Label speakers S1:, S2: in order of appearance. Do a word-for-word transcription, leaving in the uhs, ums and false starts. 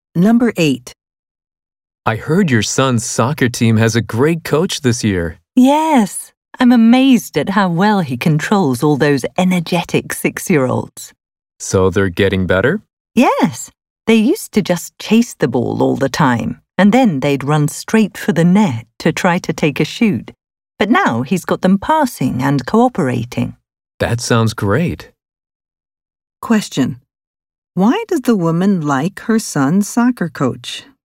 S1: Number eight.
S2: I heard your son's soccer team has a great coach this year.
S3: Yes, I'm amazed at how well he controls all those energetic six-year-olds.
S2: So they're getting better?
S3: Yes, they used to just chase the ball all the time, and then they'd run straight for the net to try to take a shoot. But now he's got them passing and cooperating.
S2: That sounds great.
S1: Question. Why does the woman like her son's soccer coach?